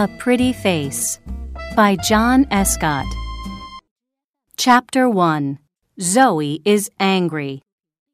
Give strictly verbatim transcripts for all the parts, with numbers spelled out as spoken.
A Pretty Face by John Escott. Chapter one. Zoe is Angry.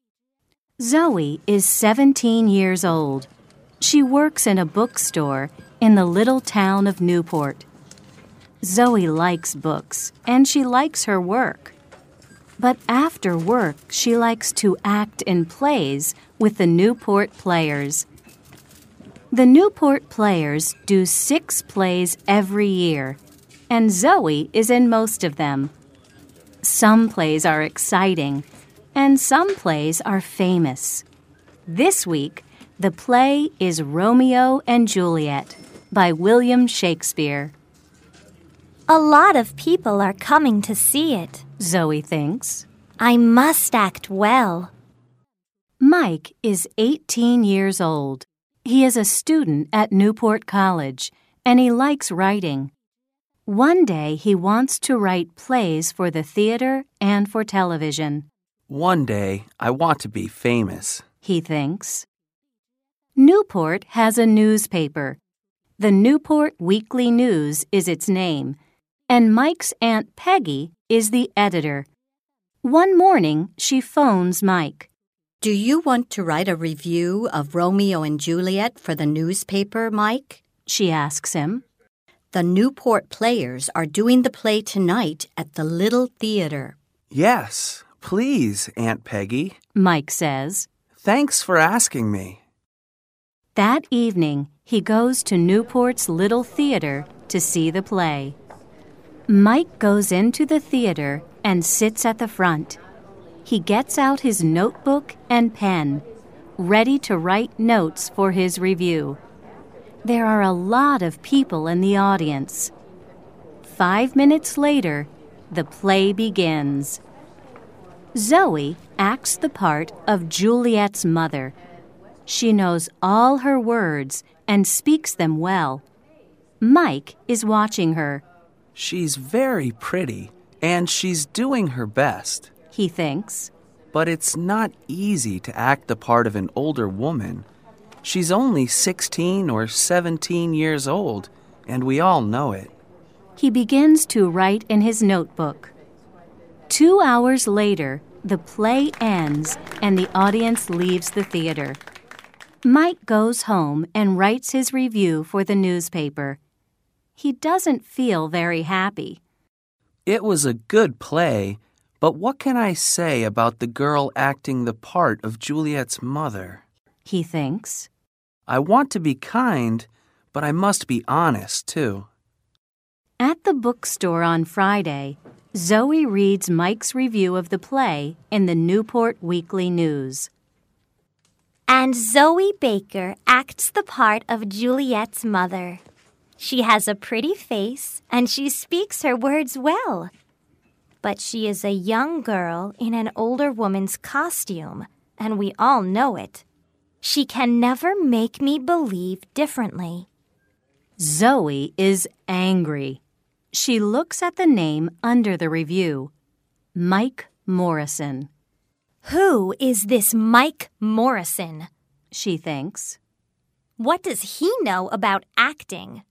Zoe is seventeen years old. She works in a bookstore in the little town of Newport. Zoe likes books, and she likes her work. But after work, she likes to act in plays with the Newport Players. The Newport Players do six plays every year, and Zoe is in most of them. Some plays are exciting, and some plays are famous. This week, the play is Romeo and Juliet by William Shakespeare. A lot of people are coming to see it, Zoe thinks. I must act well. Mike is eighteen years old. He is a student at Newport College, and he likes writing. One day he wants to write plays for the theater and for television. One day I want to be famous, he thinks. Newport has a newspaper. The Newport Weekly News is its name, and Mike's Aunt Peggy is the editor. One morning, she phones Mike. Do you want to write a review of Romeo and Juliet for the newspaper, Mike? She asks him. The Newport Players are doing the play tonight at the Little Theater. Yes, please, Aunt Peggy, Mike says. Thanks for asking me. That evening, he goes to Newport's Little Theater to see the play. Mike goes into the theater and sits at the front. He gets out his notebook and pen, ready to write notes for his review. There are a lot of people in the audience. Five minutes later, the play begins. Zoe acts the part of Juliet's mother. She knows all her words and speaks them well. Mike is watching her. She's very pretty, and she's doing her best, he thinks. But it's not easy to act the part of an older woman. She's only sixteen or seventeen years old, and we all know it. He begins to write in his notebook. Two hours later, the play ends and the audience leaves the theater. Mike goes home and writes his review for the newspaper. He doesn't feel very happy. It was a good play, but what can I say about the girl acting the part of Juliet's mother? He thinks. I want to be kind, but I must be honest, too. At the bookstore on Friday, Zoe reads Mike's review of the play in the Newport Weekly News. And Zoe Baker acts the part of Juliet's mother. She has a pretty face, and she speaks her words well. But she is a young girl in an older woman's costume, and we all know it. She can never make me believe differently. Zoe is angry. She looks at the name under the review, Mike Morrison. Who is this Mike Morrison? She thinks. What does he know about acting?